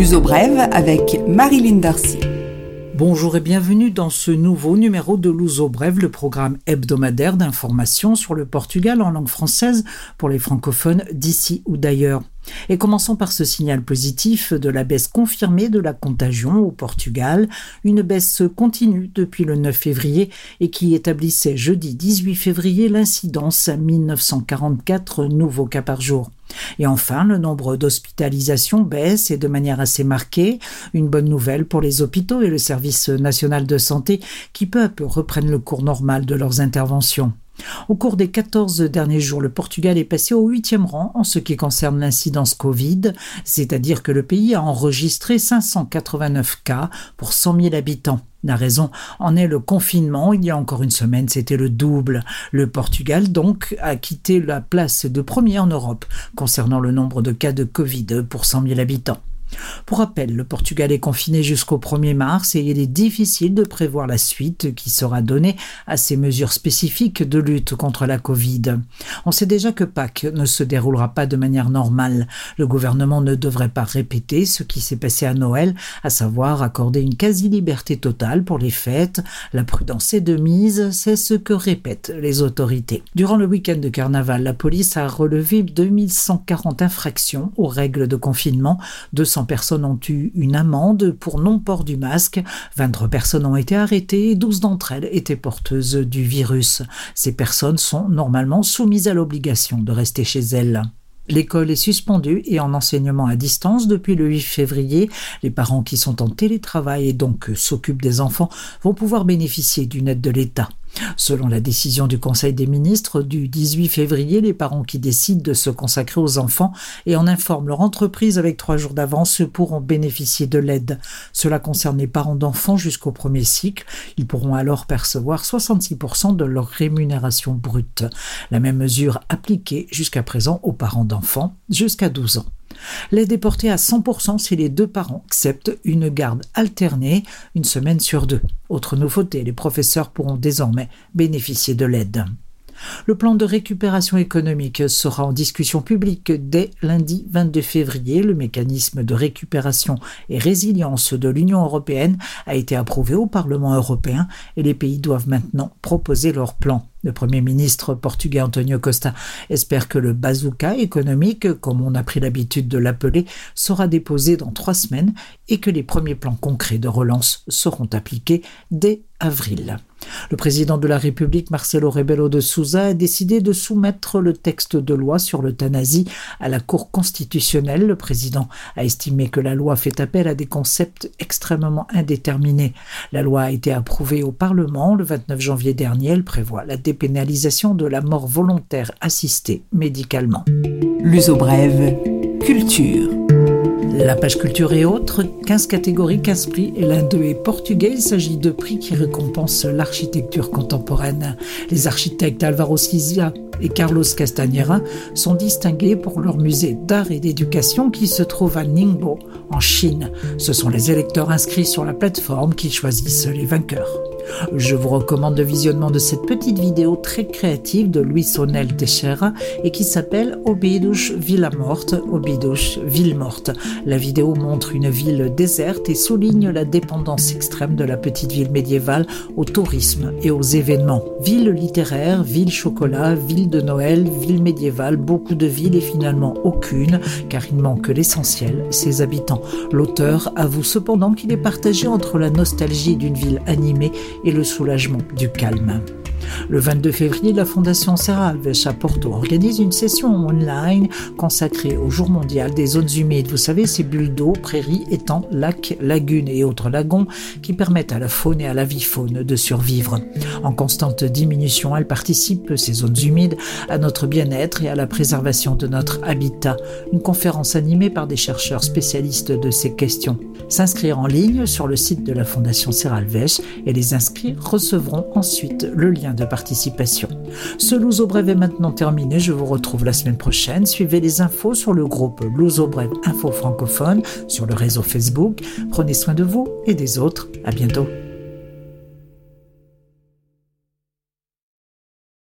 Luso Brève avec Marilyn Darcy. Bonjour et bienvenue dans ce nouveau numéro de Luso Brève, le programme hebdomadaire d'information sur le Portugal en langue française pour les francophones d'ici ou d'ailleurs. Et commençons par ce signal positif de la baisse confirmée de la contagion au Portugal, une baisse continue depuis le 9 février et qui établissait jeudi 18 février l'incidence à 1944 nouveaux cas par jour. Et enfin, le nombre d'hospitalisations baisse et de manière assez marquée, une bonne nouvelle pour les hôpitaux et le service national de santé qui peu à peu reprennent le cours normal de leurs interventions. Au cours des 14 derniers jours, le Portugal est passé au 8e rang en ce qui concerne l'incidence Covid, c'est-à-dire que le pays a enregistré 589 cas pour 100 000 habitants. La raison en est le confinement. Il y a encore une semaine, c'était le double. Le Portugal, donc, a quitté la place de premier en Europe concernant le nombre de cas de Covid pour 100 000 habitants. Pour rappel, le Portugal est confiné jusqu'au 1er mars et il est difficile de prévoir la suite qui sera donnée à ces mesures spécifiques de lutte contre la Covid. On sait déjà que Pâques ne se déroulera pas de manière normale. Le gouvernement ne devrait pas répéter ce qui s'est passé à Noël, à savoir accorder une quasi-liberté totale pour les fêtes. La prudence est de mise, c'est ce que répètent les autorités. Durant le week-end de carnaval, la police a relevé 2140 infractions aux règles de confinement, 200 personnes ont eu une amende pour non-port du masque, 23 personnes ont été arrêtées et 12 d'entre elles étaient porteuses du virus. Ces personnes sont normalement soumises à l'obligation de rester chez elles. L'école est suspendue et en enseignement à distance depuis le 8 février. Les parents qui sont en télétravail et donc s'occupent des enfants vont pouvoir bénéficier d'une aide de l'État. Selon la décision du Conseil des ministres du 18 février, les parents qui décident de se consacrer aux enfants et en informent leur entreprise avec 3 jours d'avance pourront bénéficier de l'aide. Cela concerne les parents d'enfants jusqu'au premier cycle. Ils pourront alors percevoir 66% de leur rémunération brute. La même mesure appliquée jusqu'à présent aux parents d'enfants jusqu'à 12 ans. L'aide est portée à 100% si les 2 parents acceptent une garde alternée, une semaine sur 2. Autre nouveauté, les professeurs pourront désormais bénéficier de l'aide. Le plan de récupération économique sera en discussion publique dès lundi 22 février. Le mécanisme de récupération et résilience de l'Union européenne a été approuvé au Parlement européen et les pays doivent maintenant proposer leur plan. Le Premier ministre portugais António Costa espère que le bazooka économique, comme on a pris l'habitude de l'appeler, sera déposé dans 3 semaines et que les premiers plans concrets de relance seront appliqués dès avril. Le président de la République, Marcelo Rebelo de Sousa, a décidé de soumettre le texte de loi sur l'euthanasie à la Cour constitutionnelle. Le président a estimé que la loi fait appel à des concepts extrêmement indéterminés. La loi a été approuvée au Parlement le 29 janvier dernier. Elle prévoit la dépénalisation de la mort volontaire assistée médicalement. Luso Brève, culture. La page culture et autres, 15 catégories, 15 prix, et l'un d'eux est portugais. Il s'agit de prix qui récompensent l'architecture contemporaine. Les architectes Álvaro Siza et Carlos Castanheira sont distingués pour leur musée d'art et d'éducation qui se trouve à Ningbo, en Chine. Ce sont les électeurs inscrits sur la plateforme qui choisissent les vainqueurs. Je vous recommande le visionnement de cette petite vidéo très créative de Luis Onel Teixeira et qui s'appelle Óbidos Vila Morte, Óbidos Ville Morte. La vidéo montre une ville déserte et souligne la dépendance extrême de la petite ville médiévale au tourisme et aux événements. Ville littéraire, ville chocolat, ville de Noël, ville médiévale, beaucoup de villes et finalement aucune, car il manque l'essentiel, ses habitants. L'auteur avoue cependant qu'il est partagé entre la nostalgie d'une ville animée et le soulagement du calme. Le 22 février, la Fondation Serra Alves à Porto organise une session online consacrée au jour mondial des zones humides. Vous savez, ces bulles d'eau, prairies, étangs, lacs, lagunes et autres lagons qui permettent à la faune et à la vie-faune de survivre. En constante diminution, elles participent, ces zones humides, à notre bien-être et à la préservation de notre habitat. Une conférence animée par des chercheurs spécialistes de ces questions. S'inscrire en ligne sur le site de la Fondation Serra Alves et les inscrits recevront ensuite le lien de participation. Ce Luso Brève est maintenant terminé. Je vous retrouve la semaine prochaine. Suivez les infos sur le groupe Luso Brève Info Francophone sur le réseau Facebook. Prenez soin de vous et des autres. À bientôt.